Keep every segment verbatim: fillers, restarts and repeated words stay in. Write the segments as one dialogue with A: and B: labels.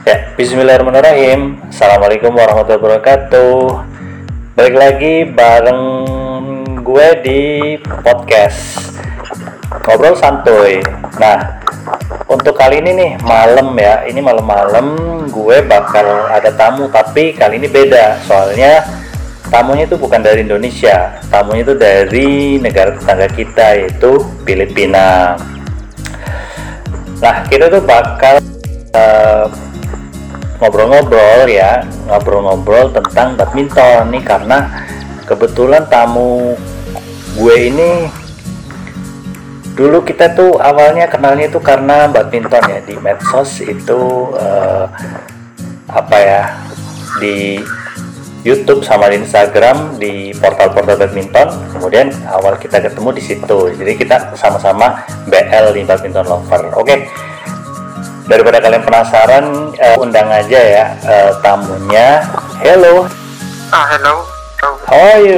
A: Ya, Bismillahirrahmanirrahim. Assalamualaikum warahmatullahi wabarakatuh. Balik lagi bareng gue di podcast Ngobrol Santuy. Nah, untuk kali ini nih malam ya, ini malam-malam gue bakal ada tamu, tapi kali ini beda. Soalnya tamunya itu bukan dari Indonesia, tamunya itu dari negara tetangga kita, yaitu Filipina. Nah, kita tuh bakal uh, ngobrol-ngobrol ya, ngobrol-ngobrol tentang badminton nih, karena kebetulan tamu gue ini dulu kita tuh awalnya kenalnya itu karena badminton ya, di medsos itu uh, apa ya, di YouTube sama di Instagram, di portal-portal badminton. Kemudian awal kita ketemu di situ, jadi kita sama-sama B L di badminton lover. Oke, daripada kalian penasaran, uh, undang aja ya uh, tamunya. Hello.
B: Ah, hello. hello.
A: How are you?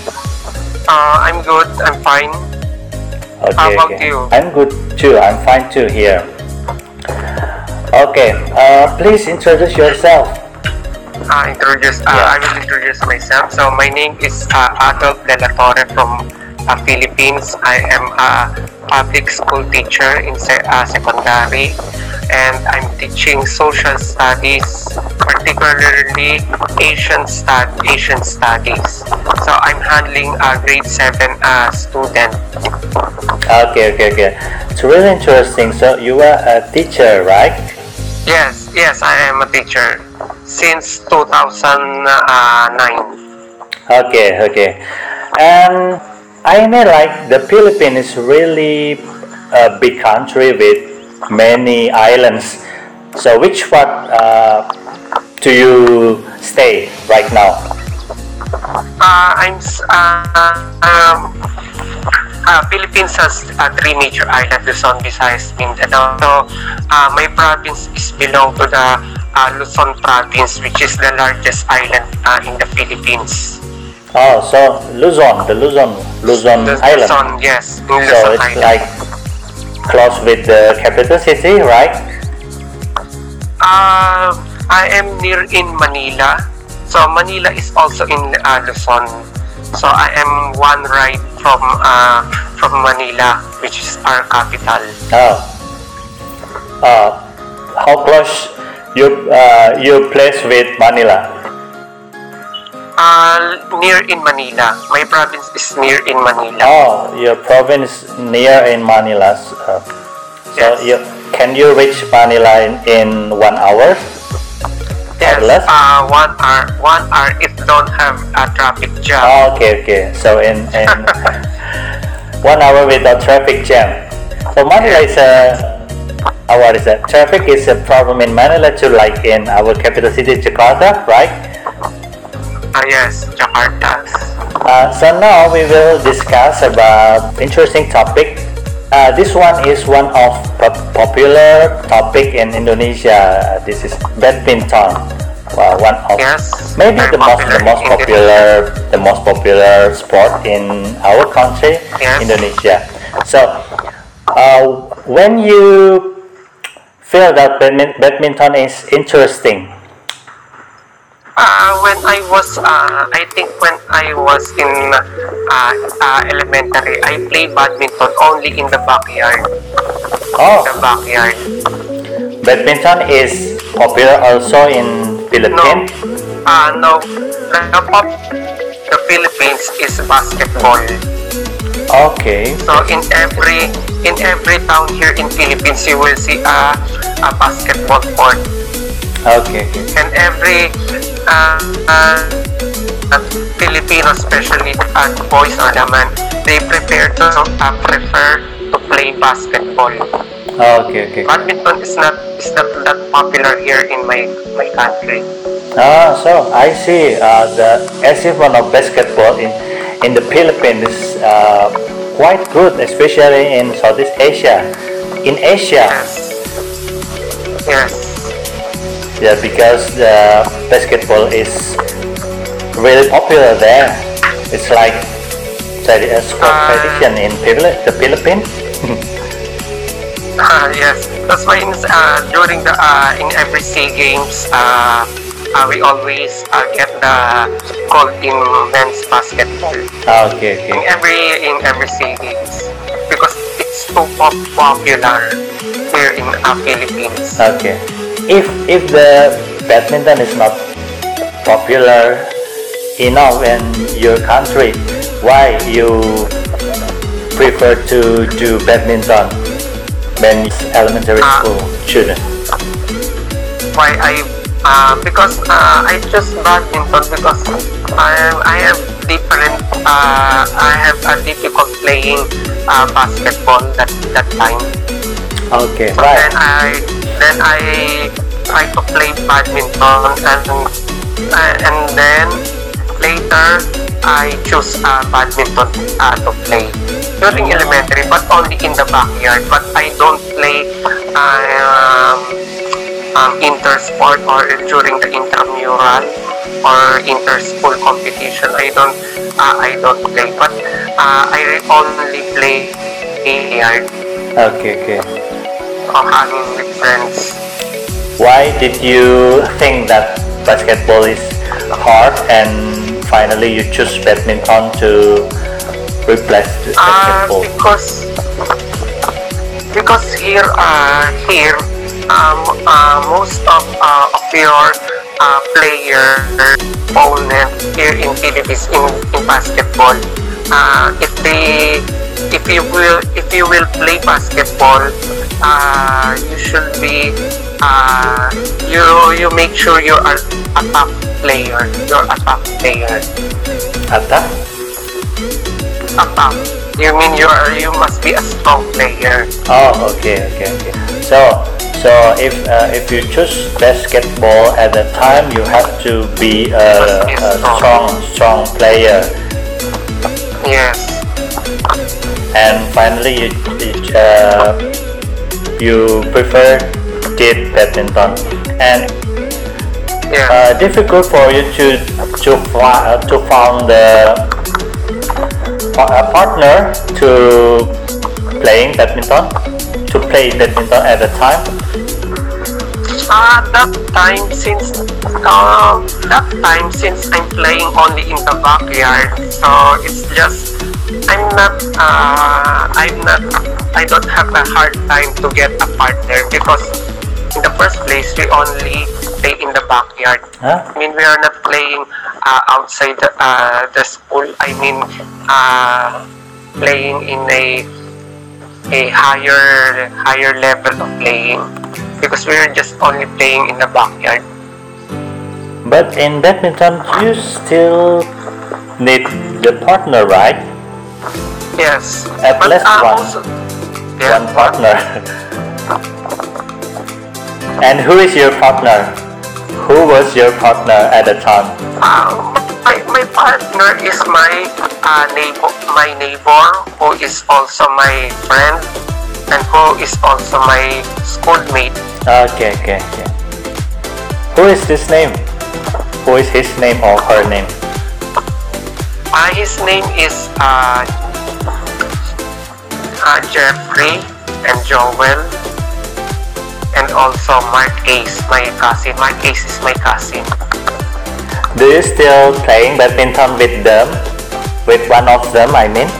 B: Uh, I'm good. I'm fine.
A: Okay,
B: How about
A: okay.
B: you?
A: I'm good too. I'm fine too here. Okay. Uh, please introduce yourself.
B: Uh, introduce. Uh,
A: Yeah.
B: I will introduce myself. So my name is uh, Adolf De La Torre from uh, Philippines. I am a public school teacher in se- uh, secondary, and I'm teaching social studies, particularly Asian stud Asian studies. So I'm handling a grade seven uh, student.
A: Okay, okay, okay. It's really interesting. So you are a teacher, right?
B: Yes, yes, I am a teacher since two thousand nine.
A: Okay, okay. And I know like the Philippines is really a big country with many islands. So which part uh, do you stay right now?
B: Uh, I'm s- uh, um, uh, Philippines has uh, three major islands: Luzon, Visayas, Mindanao. So uh, my province is belong to the uh, Luzon province, which is the largest island uh, in the Philippines.
A: Oh, so Luzon, the Luzon, Luzon
B: The
A: Island.
B: Luzon, yes, in
A: So
B: Luzon
A: it's
B: Island.
A: like close with the capital city, right?
B: Uh, I am near in Manila. So Manila is also in uh, Luzon. So I am one ride from uh, from Manila, which is our capital.
A: Oh. Uh, how close you uh, your place with Manila?
B: Uh, near in Manila. My province is near in Manila.
A: Oh, your province near in Manila. Uh, so
B: Yes.
A: you can you reach Manila in, in one hour?
B: Yes.
A: less?
B: Uh, one hour. One hour if don't have a traffic jam.
A: Oh, okay, okay. So in, in one hour without traffic jam. So Manila is a uh, what is that? Traffic is a problem in Manila too, like in our capital city Jakarta, right?
B: Ah, yes, Jakarta.
A: Uh, so now we will discuss about interesting topic. Uh, this one is one of pop- popular topic in Indonesia. This is badminton. Uh, one of
B: Yes.
A: maybe
B: very
A: the most the
B: popular
A: most
B: in
A: popular the most popular sport in our country,
B: Yes.
A: Indonesia. So uh, when you feel that badmin- badminton is interesting.
B: Uh, when I was, uh, I think when I was in uh, uh, elementary, I played badminton only in the backyard.
A: Oh,
B: The backyard.
A: badminton is popular also in
B: No,
A: Philippines.
B: uh, no. The pop, the Philippines is basketball.
A: Okay.
B: So in every in every town here in Philippines, you will see a a basketball court,
A: Okay.
B: and every uh, uh, uh, Filipino, especially uh, boys or the man, they prepare to uh, prefer to play basketball.
A: Okay. Okay.
B: Badminton is not is not that popular here in my my country.
A: Ah, so I see. Uh, the achievement of basketball in in the Philippines is uh, quite good, especially in Southeast Asia. In Asia,
B: Yes. Yes.
A: yeah, because the basketball is really popular there. It's like tradi- a sport
B: Uh,
A: tradition in Phili- the Philippines.
B: Ah, yes. That's why in, uh, during the uh, in every SEA Games, uh, uh, we always uh, get the gold in men's basketball.
A: Ah, okay,
B: In
A: okay.
B: every in every SEA Games because it's too pop- popular here in uh, Philippines.
A: Okay. If if the badminton is not popular enough in your country, why you prefer to do badminton when it's elementary
B: Ah.
A: school children?
B: Why I uh, because uh, I choose badminton because I I have different uh, I have a difficult playing uh, basketball that that time.
A: Okay,
B: So then
A: right.
B: I then I try to play badminton and uh, and then later I choose uh, badminton uh, to play during elementary, but only in the backyard. But I don't play um, um, inter-sport or during the intramural or inter-school competition. I don't uh, I don't play, but uh, I only play backyard
A: Okay, okay.
B: or hanging with friends.
A: Why did you think that basketball is hard and finally you choose badminton to replace the
B: Uh,
A: basketball?
B: because because here uh, here um, uh, most of uh, of your uh, player opponent here in Philippines in, in basketball, uh, if they if you will if you will play basketball, uh, you should be uh, you you make sure you are a top player. You're a top player.
A: Atta?
B: A top. You mean you are you must be a strong player.
A: Oh, okay, okay, okay. So, so if uh, if you choose basketball at the time, you have to be a, a strong, strong player.
B: Yes.
A: And finally, you you, uh, you prefer did badminton, and
B: Yeah.
A: uh, difficult for you to to fi- uh, to found the pa- a partner to playing badminton to play badminton at the time.
B: Uh, that time since uh, that time since I'm playing only in the backyard, so it's just I'm not uh, I'm not I don't have a hard time to get a partner because in the first place we only play in the backyard.
A: Huh?
B: I mean we are not playing uh, outside the, uh, the school. I mean uh, playing in a a higher higher level of playing because we're just only playing in the backyard.
A: But in badminton, you still need the partner, right?
B: Yes.
A: At
B: But,
A: least
B: uh,
A: one.
B: also- yeah.
A: One partner. And who is your partner? Who was your partner at the time?
B: Uh, my, my partner is my uh, neighbor, my neighbor who is also my friend and who is also my schoolmate.
A: Okay, okay, okay. Who is this name? Who is his name or her name?
B: Uh, his name is uh, uh, Jeffrey and Joel and also Mark Ace, my cousin. Mark Ace is my cousin.
A: Do you still playing badminton with them? With one of them, I mean?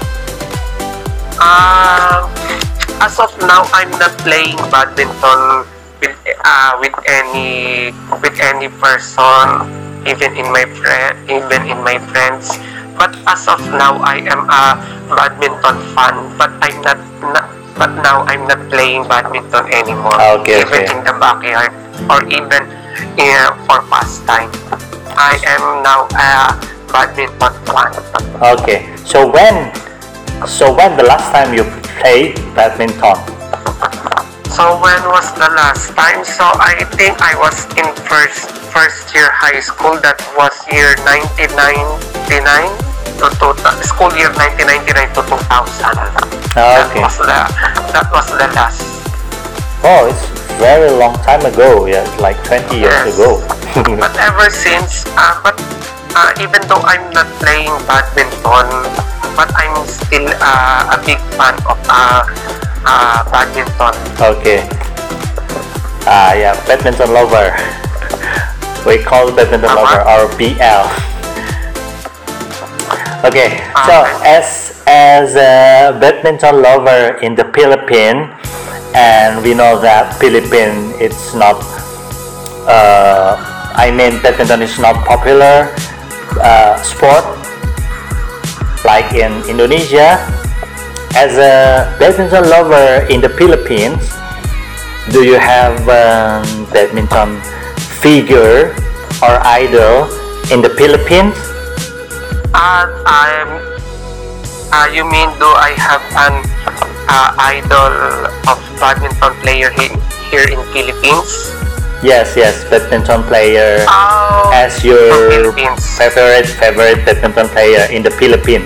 B: Uh, as of now, I'm not playing badminton with uh, with any with any person, even in my friend, even in my friends. But as of now, I am a badminton fan. But I'm not, not but now I'm not playing badminton anymore.
A: Okay,
B: even
A: okay.
B: in the backyard or even uh, for pastime. I am now a badminton fan.
A: Okay. So when, so when the last time you played badminton?
B: So when was the last time? So I think I was in first first year high school. That was year nineteen ninety-nine to two, school year nineteen ninety-nine to two thousand.
A: Ah,
B: That
A: okay.
B: was the that was the last.
A: Oh, it's very long time ago. Yeah, it's like twenty years
B: Yes.
A: ago.
B: But ever since, uh, but uh, even though I'm not playing badminton, but I'm still uh, a big fan of uh, uh, badminton.
A: Okay. Ah, yeah, badminton lover. We call badminton
B: Uh-huh.
A: lover or B L. Okay, so
B: Okay.
A: as as a badminton lover in the Philippines, and we know that Philippines it's not. Uh, I mean, badminton is not popular uh, sport like in Indonesia. As a badminton lover in the Philippines, do you have um, badminton figure or idol in the Philippines?
B: Uh, I'm. Uh, you mean do I have an uh, idol of badminton player he- here in Philippines?
A: Yes, yes, badminton player
B: Oh,
A: as
B: from
A: your
B: Philippines.
A: favorite favorite badminton player in the Philippines.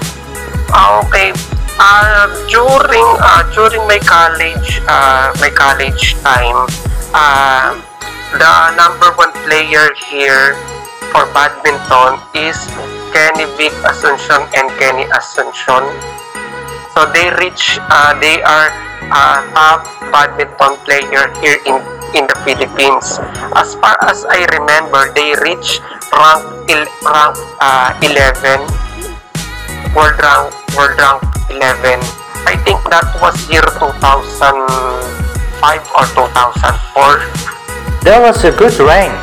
B: Okay. Uh, during uh, during my college uh, my college time, uh, the number one player here for badminton is Kenny Vic Asuncion and Kenny Asuncion. So they reach uh, they are uh, top badminton player here in in the Philippines. As far as I remember, they reach rank il- rank uh, eleven, world rank world rank eleven. I think that was year two thousand five or two thousand four.
A: That was a good rank.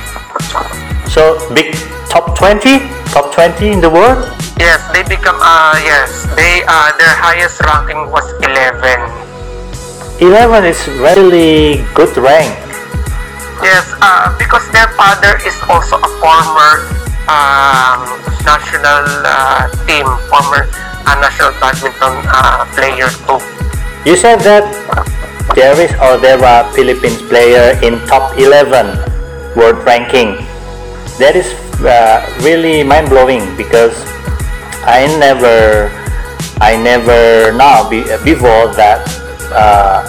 A: So big top twenty, top twenty in the world.
B: Yes, they become uh yes, they uh their highest ranking was eleven.
A: eleven is really good rank.
B: Yes, uh, because their father is also a former um, national uh, team, former uh, national badminton uh, player too.
A: You said that there is or there are Philippines player in top eleven world ranking. That is uh, really mind blowing because I never I never know be, before that uh,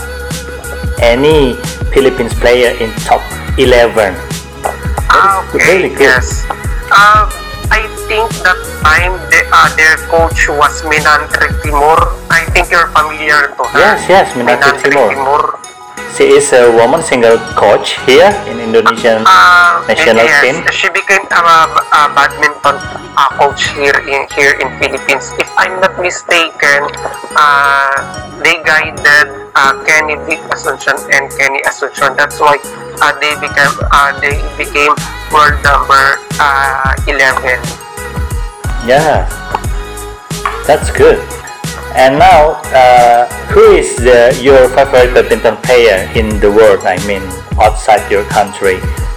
A: any Philippines player in top eleven.
B: Ah,
A: That is
B: okay,
A: really good.
B: yes. Uh, I think that time the, uh, their coach was Minantri Timur. I think you're familiar to her.
A: Yes, yes, Minantri Timur.
B: Timur.
A: She is a woman single coach here in Indonesian
B: Uh,
A: national
B: yes,
A: team.
B: she became a, a badminton uh, coach here in here in Philippines. If I'm not mistaken, uh, they guided uh, Kenny Vic Asuncion and Kenny Asuncion. That's why uh, they became uh, they became world number uh, eleven.
A: Yeah, that's good. And now, uh, who is the, your favorite badminton player in the world? I mean, outside your country.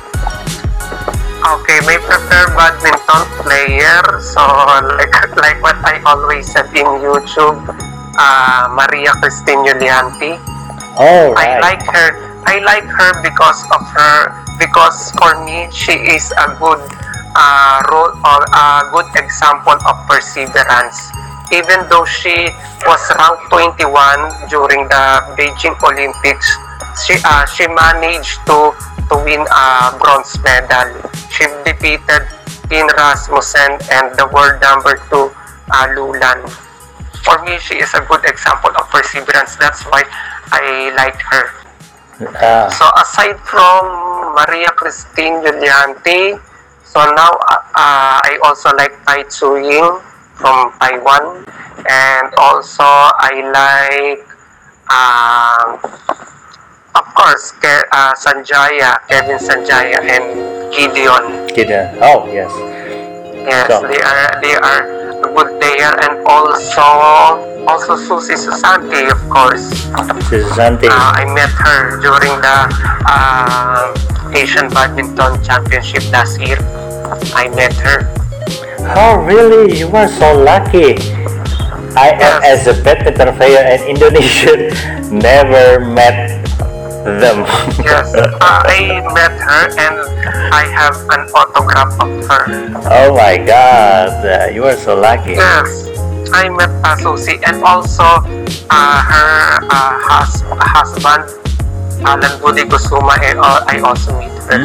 B: Okay, my preferred badminton player. So like like what I always said in YouTube, uh, Maria Christine Yulianti.
A: Oh,
B: I
A: right.
B: like her. I like her because of her. Because for me, she is a good uh, role or a good example of perseverance. Even though she was ranked twenty-one during the Beijing Olympics, she uh, she managed to to win a bronze medal. She defeated Dean Rasmussen and the world number two uh, Lulan. For me, she is a good example of perseverance. That's why I like her.
A: Ah,
B: So aside from Maria Christine Yulianti, so now uh, uh, I also like Tai Tzu Ying from Taiwan, and also I like, um, of course, Ke- uh, Sanjaya, Kevin Sanjaya, and Gideon.
A: Gideon. Oh, yes.
B: Yes,
A: So-
B: they are they are a good player, and also also Susie Susanti, of course.
A: Susanti.
B: Uh, I met her during the uh, Asian Badminton Championship last year. I met her.
A: Oh, really? You were so lucky. I am
B: Yes.
A: as a badminton player in Indonesia never met them.
B: Yes, uh, I met her and I have an autograph of her.
A: Oh my God, uh, you are so lucky.
B: Yes, I met uh, Susie, and also uh, her uh, hus- husband, Alan Budi Kusuma, and uh, I also meet her.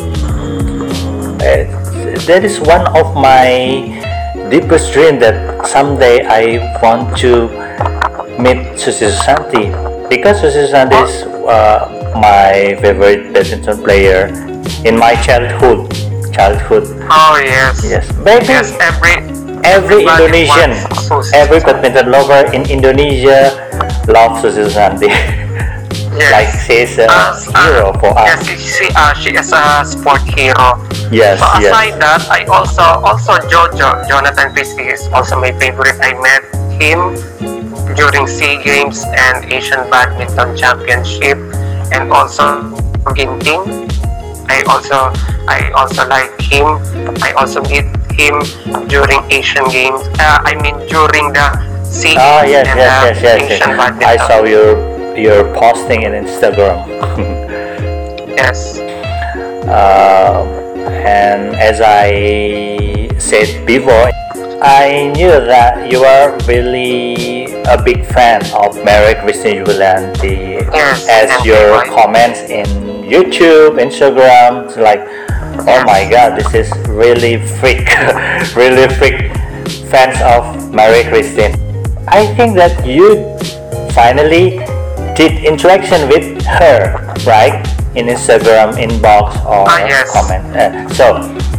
A: Uh, that is one of my deepest dream that someday I want to meet Susi Susanti because Susi Susanti is uh, my favorite badminton player in my childhood. Childhood.
B: Oh yes.
A: Yes, maybe
B: Yes, every
A: every
B: everybody
A: Indonesian,
B: wants Susi
A: every
B: Susanti.
A: badminton lover in Indonesia loves Susi Susanti.
B: Yes.
A: Like she's a
B: Uh,
A: hero
B: uh,
A: for
B: yes,
A: us.
B: she, she, uh, she is a sport hero.
A: Yes,
B: So
A: yes.
B: aside that, I also also Jojo Jonathan Christie is also my favorite. I met him during SEA Games and Asian Badminton Championship, and also Ginting. I also I also like him. I also meet him during Asian Games. Uh, I mean during the SEA
A: Ah,
B: Games
A: yes,
B: and
A: yes,
B: the
A: yes, yes,
B: Asian
A: yes.
B: Badminton.
A: I saw your your posting in Instagram.
B: Yes.
A: Uh, and as I said before, I knew that you are really a big fan of Mary Christine Yulianti.
B: Yes,
A: As
B: and
A: your
B: I-
A: comments in YouTube, Instagram, it's like, oh my God, this is really freak, really freak fans of Mary Christine. I think that you finally did interaction with her, right? In Instagram inbox or
B: Ah, yes.
A: comment. Uh, so,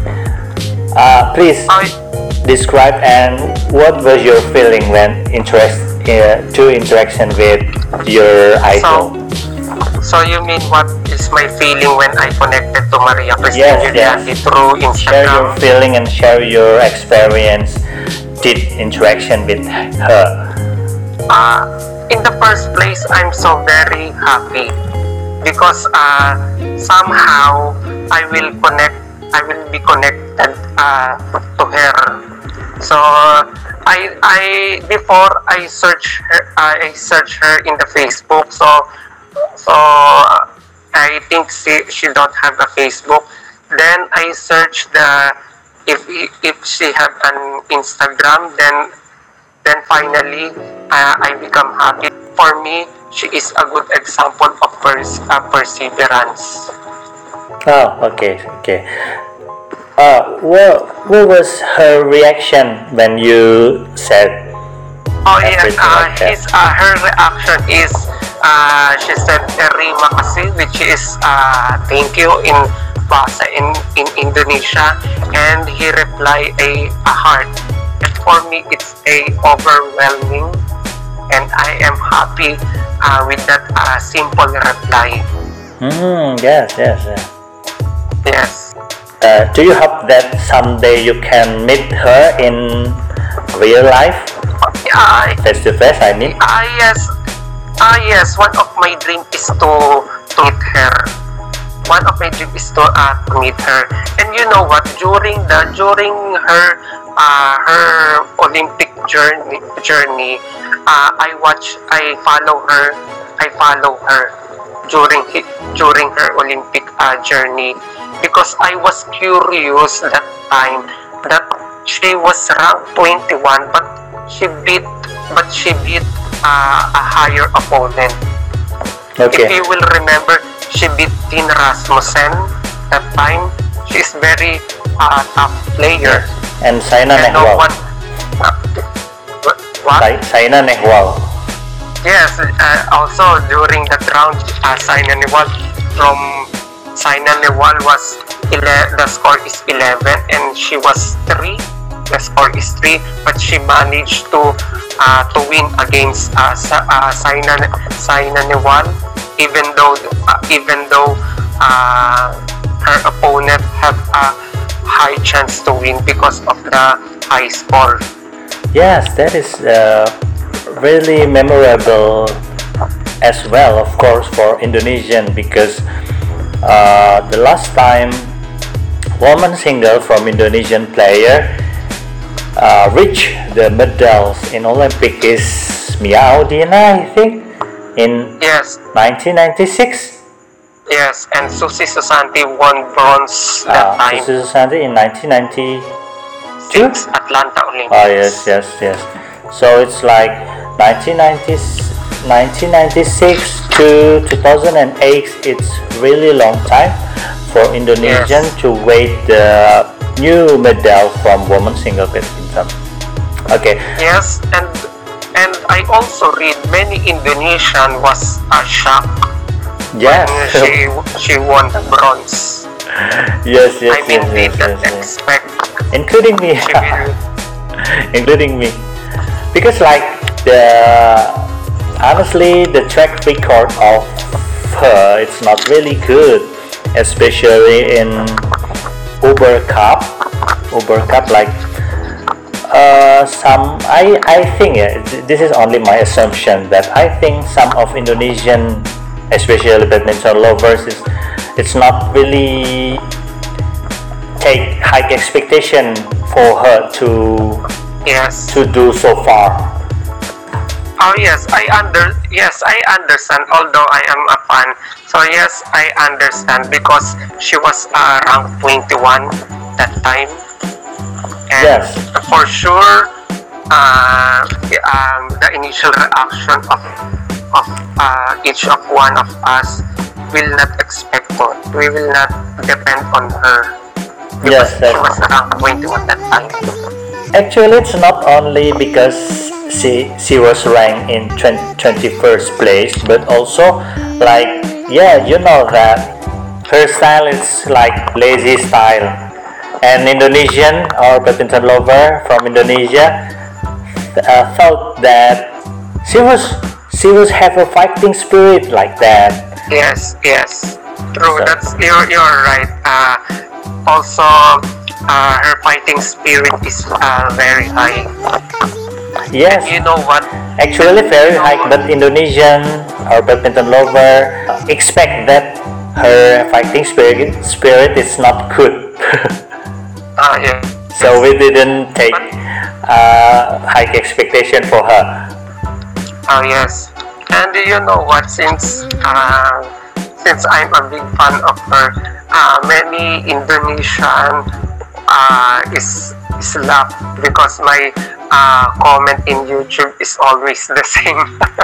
A: uh, please
B: I,
A: describe and what was your feeling when interest uh, to interaction with your idol?
B: So you mean what is my feeling when I connected to Maria Christine
A: Yes,
B: Yulianti
A: yes.
B: through
A: Share your
B: Instagram?
A: feeling and share your experience. Did interaction with her?
B: Uh, in the first place, I'm so very happy because uh, somehow I will connect. I will be connected uh, to her. So I I before I search her, I search her in the Facebook. So so I think she she don't have a Facebook. Then I search the if if she have an Instagram. Then then finally uh, I become happy. For me, she is a good example of pers- uh, perseverance.
A: Oh, okay, okay. Uh, what what was her reaction when you said
B: Oh yes,
A: everything
B: uh,
A: like that?
B: his uh, her reaction is uh, she said terima kasih, which is uh, thank you in bahasa in in Indonesia, and he replied a, a heart. And for me, it's a overwhelming, and I am happy uh, with that uh, simple reply.
A: Hmm. Yes. Yes. Yes.
B: Yes.
A: Uh, do you hope that someday you can meet her in real life,
B: Yeah,
A: face to face? I mean.
B: Ah yes, ah yes. One of my dream is to to meet her. One of my dream is to uh, to meet her. And you know what? During the during her uh, her Olympic journey journey, uh, I watch. I follow her. I follow her during hi- during her Olympic uh, journey because I was curious that time that she was ranked twenty-one, but she beat but she beat uh, a higher opponent. If
A: Okay.
B: you will remember, she beat Dean Rasmussen that time. She's very uh, tough player.
A: And Saina
B: And no
A: Nehwal.
B: one. Uh, what?
A: Sai- Saina Nehwal.
B: Yes. Uh, also during that round, uh, Saina Nehwal from Saina Nehwal was ele- the score is eleven and she was three. The score is three, but she managed to uh, to win against uh, Sa- uh, Saina Saina Nehwal, even though uh, even though uh, her opponent have a high chance to win because of the high score.
A: Yes, that is uh, really memorable as well, of course, for Indonesian because uh, the last time woman single from Indonesian player uh, reached the medals in Olympic is Mia Audina, I think, in
B: Yes,
A: nineteen ninety-six.
B: yes, and Susi Susanti won bronze that
A: Uh,
B: time.
A: Susi Susanti in nineteen ninety-two.
B: Six Atlanta Olympics.
A: Oh yes, yes, yes. So it's like nineteen ninety, nineteen ninety-six to two thousand eight. It's really long time for Indonesian
B: Yes.
A: to wait the new medal from women single badminton. Okay.
B: Yes, and and I also read many Indonesian was uh, shocked
A: Yeah.
B: when she she won the bronze.
A: Yes, yes,
B: I mean,
A: yes,
B: we
A: yes,
B: didn't
A: yes, yes.
B: expect
A: Including me.
B: she will.
A: Including me. Because like the honestly the track record of her it's not really good, especially in Uber Cup. Uber Cup like uh, some I I think yeah, th- this is only my assumption that I think some of Indonesian, especially badminton lovers, is it's not really take high expectation for her to
B: Yes.
A: to do so far.
B: Oh yes, I under yes I understand. Although I am a fan, so yes I understand because she was uh, ranked twenty-one that time, and
A: Yes.
B: for sure, uh, the- um, the initial reaction of of uh, each of one of us will not expect it. We will not depend on her because
A: Yes,
B: she
A: that-
B: was around twenty-one that time.
A: Actually, it's not only because she she was ranked in twenty-first place, but also like yeah, you know that her style is like lazy style, and Indonesian or badminton lover from Indonesia uh, thought that she was she was have a fighting spirit like that.
B: Yes, yes, true.
A: So-
B: That's you're you're right. Uh, also, uh, her fighting spirit is uh, very high.
A: Yes,
B: You know what?
A: actually very high, but Indonesian or badminton lover expect that her fighting spirit spirit is not good.
B: Uh, yeah.
A: So we didn't take uh, high expectation for her.
B: Oh yes. And you know what? Since uh, since I'm a big fan of her, uh, many Indonesian uh, is is laugh because my uh, comment in YouTube is always the same.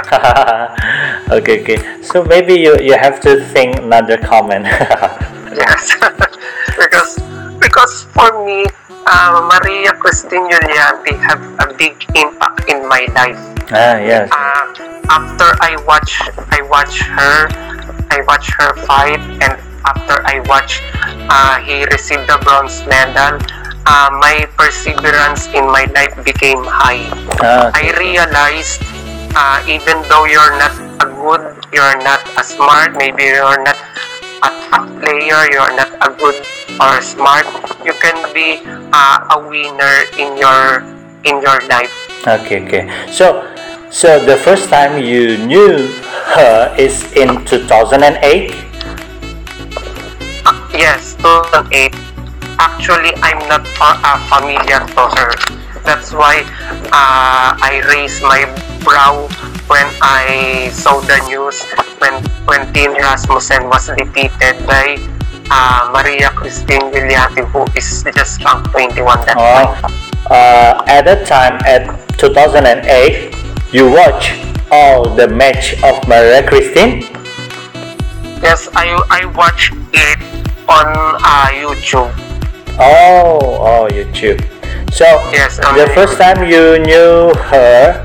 A: Okay, okay. So maybe you, you have to think another comment.
B: Yes, because because for me, uh, Maria Christine Giuliani have a big impact in my life.
A: Ah, yes.
B: Uh, after I watch I watch her, I watch her fight, and after I watch uh, he received the bronze medal, uh, my perseverance in my life became high.
A: Ah,
B: I realized uh, even though you're not a good, you're not a smart, maybe you're not a top player, you're not a good or smart, you can be uh, a winner in your in your life.
A: okay, okay. So, so the first time you knew her is in two thousand eight.
B: Uh, yes, two thousand eight. Actually, I'm not fa- uh, familiar to her. That's why uh, I raised my brow when I saw the news when when Dean Rasmussen was defeated by uh, Maria Christine Giuliani, who is just ranked twenty-one that
A: Oh,
B: time.
A: uh, at that time at two thousand eight, you watch all the match of Maria Christine.
B: Yes, I I watched it on uh, YouTube.
A: Oh, oh, YouTube. So
B: Yes, on
A: the first time you knew her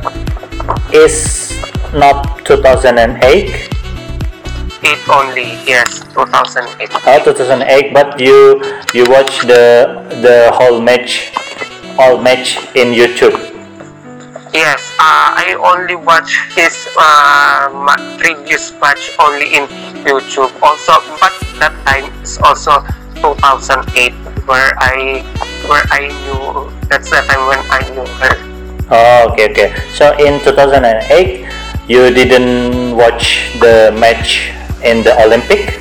A: is not two thousand eight,
B: It only, yes, two thousand eight.
A: oh, two thousand eight, but you you watch the the whole match, all match in YouTube.
B: Yes, uh, I only watch his uh, ma- previous match only in YouTube. Also, but that time is also two thousand eight, where I where I knew. That's the time when I knew her.
A: Oh, okay, okay. So in two thousand eight, you didn't watch the match in the Olympic.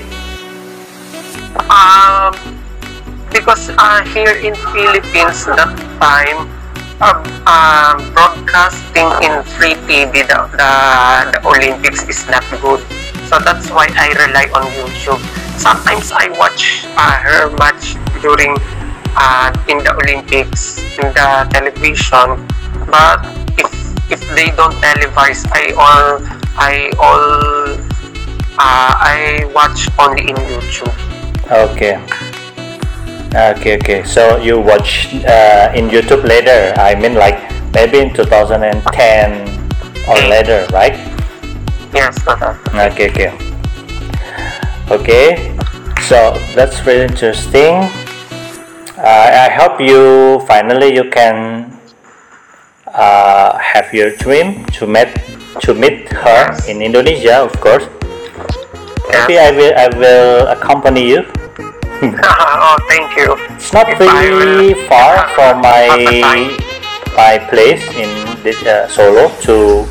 B: Um, because uh, here in Philippines that time, uh, uh, broadcasting in free T V the, the the Olympics is not good. So that's why I rely on YouTube. Sometimes I watch uh, her match during uh, in the Olympics in the television, but if if they don't televise, I all I all uh, I watch only in YouTube.
A: Okay. Okay, okay. So you watch uh, in YouTube later. I mean, like maybe in two thousand ten or later, right?
B: Yes, uh-huh.
A: Okay, okay. Okay, so that's very interesting. Uh, I hope you finally you can uh, have your dream to meet to meet her in Indonesia, of course. Maybe I will I will accompany you.
B: Oh, thank you.
A: It's not
B: If I
A: really
B: will-
A: far from my
B: At the time.
A: my place in this, uh, Solo to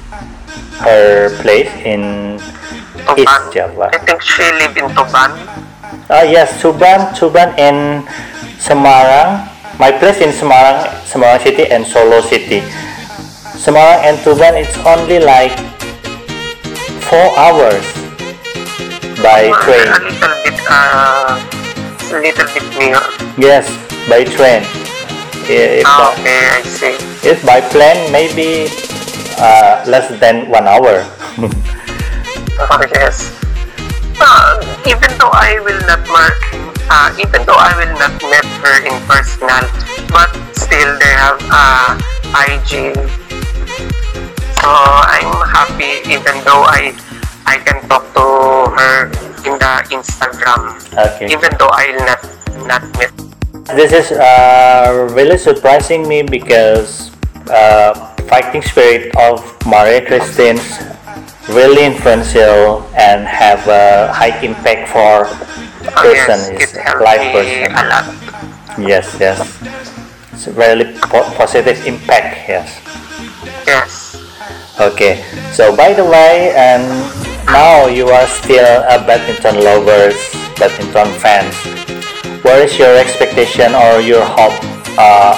A: her place in East
B: Tuban.
A: Java.
B: I think she live in Tuban.
A: Ah yes, Tuban, Tuban and Semarang. My place in Semarang, Semarang City and Solo City. Semarang and Tuban, it's only like four hours by
B: Uh,
A: train.
B: A little bit, uh, a little bit near.
A: Yes, by train. If,
B: Ah,
A: uh,
B: okay, I see.
A: if by plane, maybe uh, less than one hour.
B: Oh, yes. Uh, even though I will not mar- uh, even though I will not met her in personal, but still they have uh, I G. So I'm happy even though I I can talk to her in the Instagram.
A: Okay.
B: Even though I'll not not meet.
A: This is uh, really surprising me because uh, fighting spirit of Maria Christine's really influential and have a high impact for
B: Oh,
A: person
B: yes,
A: is
B: it helped
A: life
B: me
A: person.
B: a lot.
A: Yes, yes. It's a really po- positive impact. Yes.
B: Yes.
A: Okay. So by the way, and now you are still a badminton lovers, badminton fans. What is your expectation or your hope uh,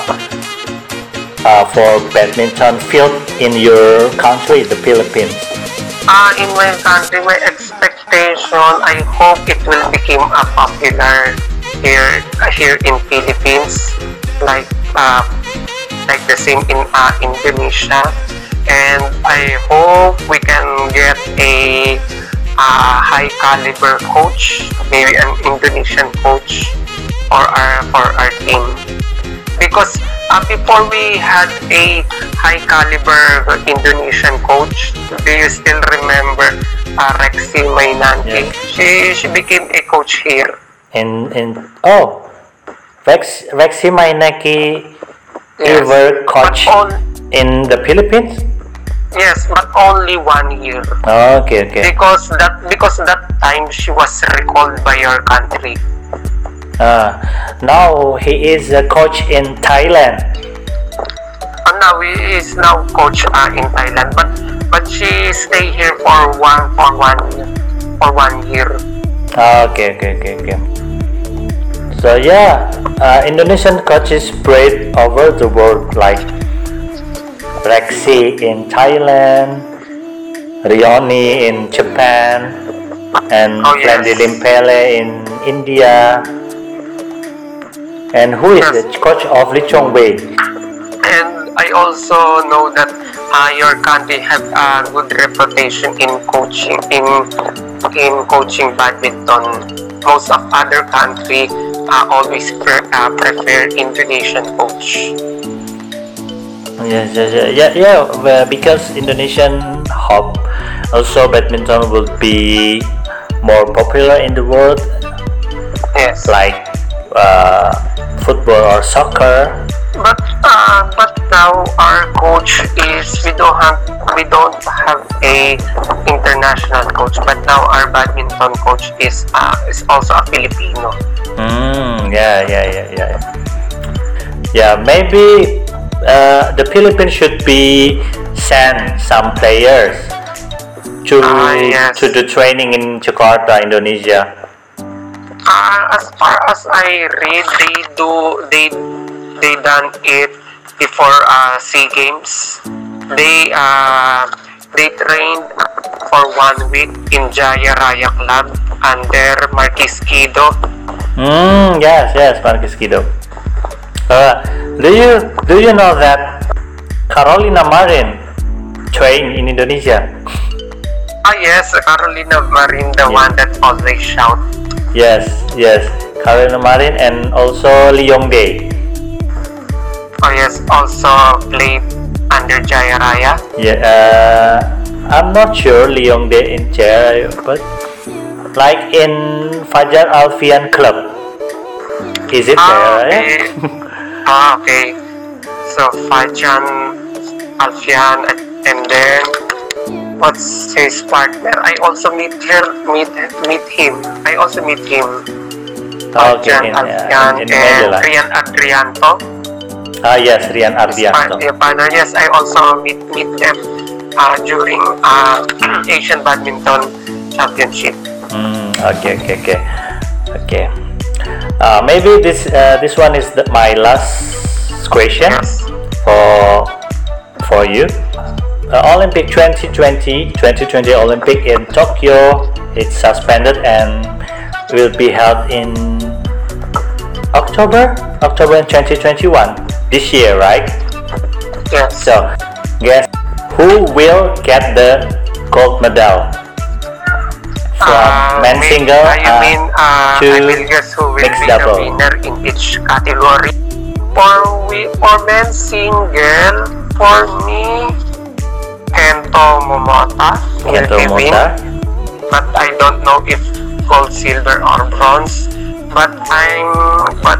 A: uh, for badminton field in your country, the Philippines?
B: Uh, in my country, my expectation, I hope it will become a popular here uh, here in Philippines, like uh, like the same in uh, Indonesia, and I hope we can get a uh, high caliber coach, maybe an Indonesian coach, for our for our team. Because uh, before we had a high caliber Indonesian coach, do you still remember uh, Rexy Mainanti?
A: Yes.
B: She she became a coach here.
A: In in oh, Rex Rexy Mainaki
B: Yes.
A: ever coach
B: But on,
A: in the Philippines?
B: yes, but only one year.
A: Oh, okay, okay.
B: Because that because that time she was recalled by your country.
A: Uh, now he is a coach in Thailand.
B: And now he is now coach uh, in Thailand, but but she stay here for one for one for one year.
A: Ah, okay, okay, okay, okay. So yeah, uh, Indonesian coaches spread over the world like Rexy in Thailand, Rioni in Japan, and
B: Oh, yes.
A: Flandy Limpele in India. And who is
B: Yes.
A: the coach of Lee Chong Wei?
B: And I also know that uh, your country have a good reputation in coaching in in coaching badminton. Most of other country uh, always pre- uh, prefer Indonesian coach.
A: Yes, yes, yeah, yeah, yeah. Well, because Indonesian hope also badminton will be more popular in the world,
B: Yes.
A: like uh, football or soccer.
B: But uh, but now our coach is we don't have we don't have a international coach. But now our badminton coach is uh, is also a Filipino.
A: Mm, yeah, yeah, yeah, yeah. Yeah, maybe uh, the Philippines should be send some players to
B: Ah, yes.
A: to the training in Jakarta, Indonesia.
B: Uh, as far as I read, they do they they done it before uh, SEA Games. They uh they trained for one week in Jaya Raya Club under Marquis Kido.
A: Mm, yes, yes, Marcus Kido. Uh, do you do you know that Carolina Marin train in Indonesia?
B: Ah yes, Carolina Marin, the
A: Yeah.
B: one that always shout.
A: Yes, yes, Carolina Marin and also Lee Yong-dae.
B: Oh yes, also played under Jaya Raya.
A: Yeah, uh, I'm not sure Lee Yong-dae in chair, but like in Fajar Alfian Club. Is it
B: Ah,
A: there?
B: okay. Ah, okay. So Fajan, Alfian, and then what's his partner? I also meet her, meet meet him. I also meet him.
A: Okay,
B: Fajan,
A: in, uh,
B: Alfian,
A: in, in
B: and
A: Manila.
B: Rian Adrianto.
A: Ah, yes, Rian
B: His pa-
A: Ardianto.
B: yeah, partner. Yes, I also meet meet them uh, during uh, Asian Badminton Championship.
A: Mm, okay, okay, okay, okay. Uh, maybe this uh, this one is the, my last question
B: Yes.
A: for for you. Uh, Olympic twenty twenty twenty twenty Olympic in Tokyo, it's suspended and will be held in October October twenty twenty-one this year, right?
B: Yes.
A: So guess who will get the gold medal from
B: Uh,
A: men's
B: may-
A: single
B: uh, you
A: uh,
B: mean uh,
A: to
B: I will guess who will
A: mixed
B: be
A: double?
B: the winner in each category. For we for men's single, for me, Kento Momota will
A: Kento
B: be win,
A: Momota.
B: but I don't know if gold, silver, or bronze. But I'm but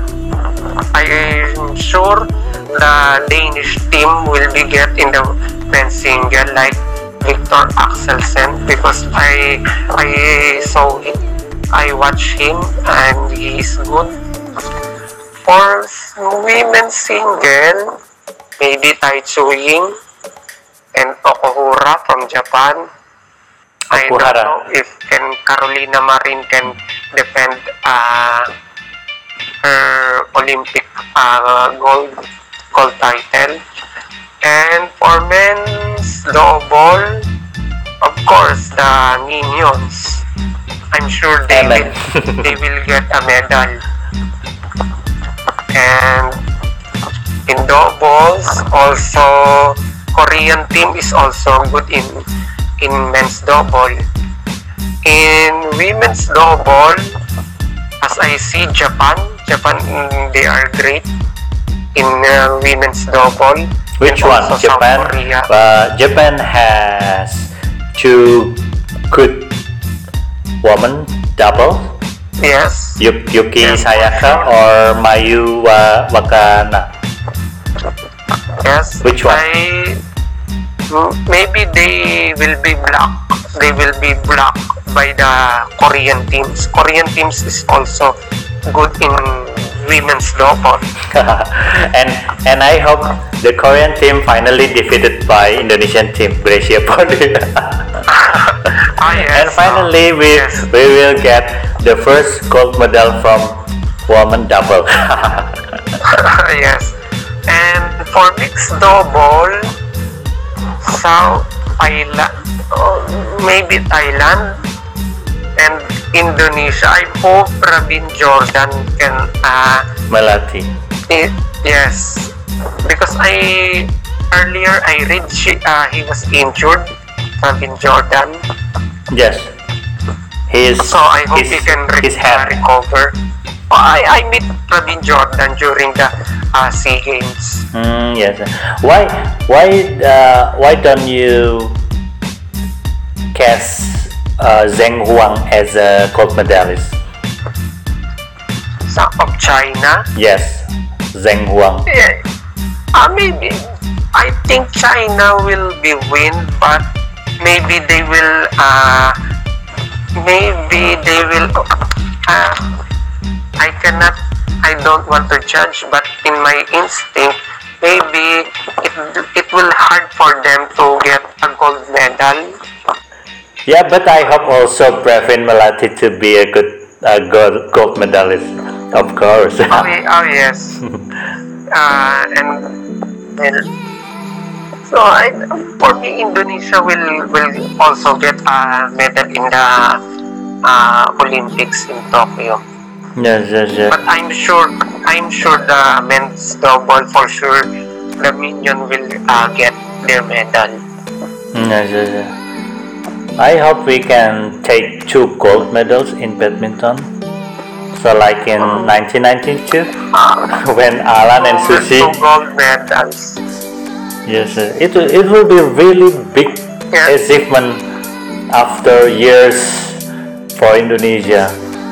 B: I'm sure the Danish team will be get in the men's single like Victor Axelsen, because I I saw it, I watch him and he is good. For women's single, maybe Tai Tzu Ying and Okuhara from Japan. I don't
A: Okuhara.
B: know if can Carolina Marin can defend uh, her Olympic uh, gold gold title. And for men's double, of course, the Minions. I'm sure they
A: Amen.
B: will they will get a medal. And in doubles, also Korean team is also good in in men's double. In women's double, as I see Japan, Japan mm, they are great in uh, women's double.
A: Which
B: And
A: one?
B: also
A: Japan.
B: South Korea.
A: Uh, Japan has two good women double.
B: Yes.
A: Yu- Yuki
B: Yes,
A: Sayaka
B: for sure.
A: or Mayu Wa- Wakana.
B: Yes.
A: Which one?
B: I, m- maybe they will be blocked. They will be blocked by the Korean teams. Korean teams is also good in women's double.
A: and and I hope the Korean team finally defeated by Indonesian team Gracia Poli.
B: Ah, yes.
A: And finally we
B: Yes.
A: we will get the first gold medal from woman double.
B: Yes. And for mixed double, South Thailand, oh, maybe Thailand and Indonesia. I hope Rabin Jordan can, uh,
A: Melati.
B: i- yes, because I earlier I read she, uh, he was injured, Rabin Jordan.
A: Yes. His
B: So I hope
A: his,
B: he can re-
A: his
B: uh,
A: hand.
B: recover. Oh, I, I meet Rabin Jordan during the uh, SEA Games.
A: Mm, yes. Why why uh, why don't you cast uh, Zheng Huang as a gold medalist?
B: Sa of China.
A: Yes, Zheng Huang.
B: Yeah, uh, maybe I think China will be win, but maybe they will. Uh, maybe they will. Uh, I cannot. I don't want to judge, but in my instinct, maybe it it will hard for them to get a gold medal.
A: Yeah, but I hope also Pravin Melati to be a good uh, gold gold medalist, of course.
B: Oh, ye- oh yes. uh, and well, so I, for me, Indonesia will will also get a medal in the uh, Olympics in Tokyo.
A: Yes, yes, yes.
B: But I'm sure, I'm sure the men's double for sure, the Minion will uh, get their medal.
A: Yes, yes, yes. I hope we can take two gold medals in badminton. So like in nineteen ninety-two, when Alan and
B: Two
A: Susi,
B: gold medals.
A: yes, uh, it will- it will be really big
B: Yes.
A: achievement after years for Indonesia?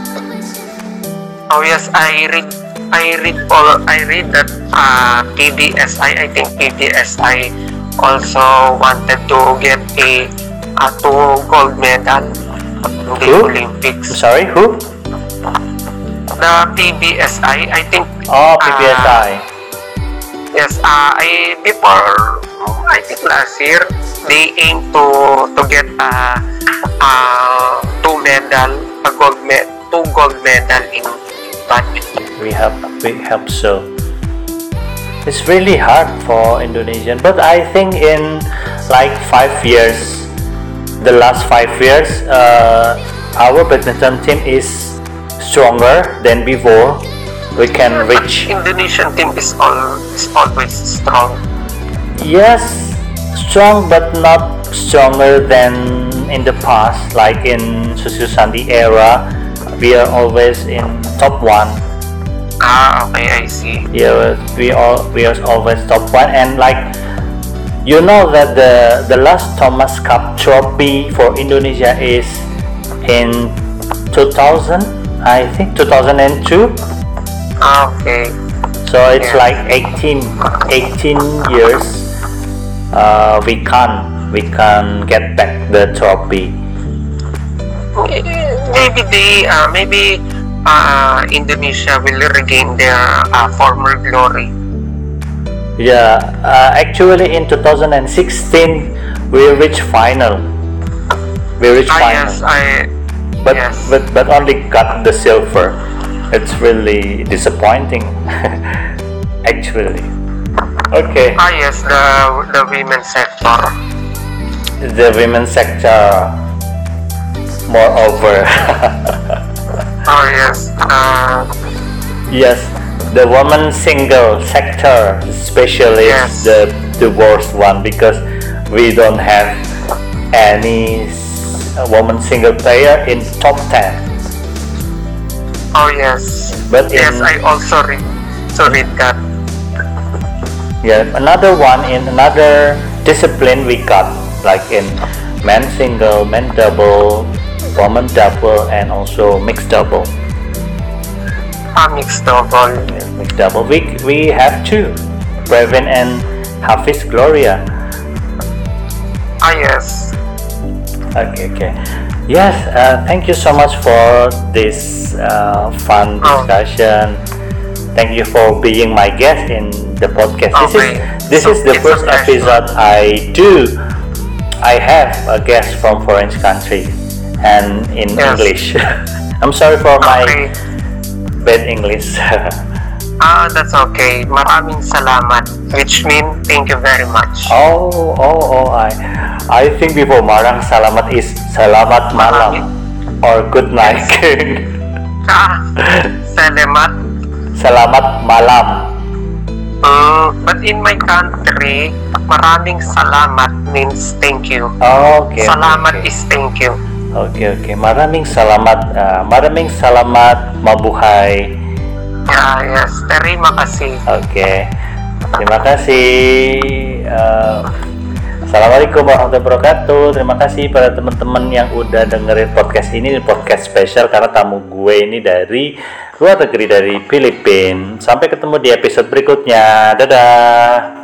B: Oh yes, I read I read all I read that uh, P B S I I think P B S I also wanted to get a, a two gold medal in the
A: Who?
B: Olympics.
A: Sorry, who?
B: The P B S I I think.
A: Oh, P B S I.
B: Uh, yes, uh, I before I think last year they aim to to get a uh, uh, two medal a gold med two gold medal in badminton.
A: We hope we hope so. It's really hard for Indonesian, but I think in like five years, the last five years, uh, our badminton team is stronger than before. We can reach.
B: Indonesian team is all is always strong.
A: Yes, strong but not stronger than in the past. Like in Susu Sandi era, we are always in top one.
B: Ah, okay, I see.
A: Yeah, we all we are always top one, and like you know that the the last Thomas Cup trophy for Indonesia is in two thousand, I think two thousand two.
B: Ah, okay.
A: So it's
B: Yeah.
A: like eighteen, eighteen years. Uh, we can't we can't get back the trophy.
B: Maybe they uh, maybe uh, Indonesia will regain their uh, former glory.
A: Yeah, uh, actually in two thousand sixteen we reached final. We reached
B: Ah,
A: final.
B: yes, I.
A: but,
B: yes.
A: but but only got the silver. It's really disappointing. Actually. Okay.
B: Ah, yes, the the women's sector.
A: The women's sector. Moreover.
B: Oh yes. Uh,
A: Yes, the woman single sector especially
B: Yes.
A: is the the worst one because we don't have any s- woman single player in top ten.
B: oh yes.
A: But
B: Yes,
A: in
B: I also read. So read that.
A: yeah, another one in another discipline we got like in men single, men double, woman double, and also mixed double.
B: Ah, mixed double.
A: Yes, mixed double. We we have two, Brevin and Hafiz Gloria.
B: Ah, yes.
A: Okay, okay. Yes, uh, thank you so much for this uh, fun
B: Oh.
A: discussion. Thank you for being my guest in the podcast. This
B: Okay.
A: is this
B: So
A: is the
B: it's a
A: first
B: pleasure.
A: episode I do. I have a guest from foreign country and in
B: Yes.
A: English. I'm sorry for my
B: Okay.
A: bad English.
B: Ah, that's okay. Maraming salamat. Which mean thank you very much.
A: oh, oh, oh, I I think before marang salamat is selamat malam or good night.
B: Ah, salamat.
A: Selamat malam.
B: Mm, but in my country, maraming salamat means thank you.
A: Okay.
B: Salamat
A: okay.
B: is thank you.
A: Oke oke, maraming salamat, uh, maraming salamat, mabuhay.
B: Ah, yes. Terima kasih.
A: Oke, terima kasih. Uh, Assalamualaikum warahmatullahi wabarakatuh. Terima kasih pada teman-teman yang udah dengerin podcast ini, podcast spesial karena tamu gue ini dari luar negeri, dari Filipina. Sampai ketemu di episode berikutnya. Dadah.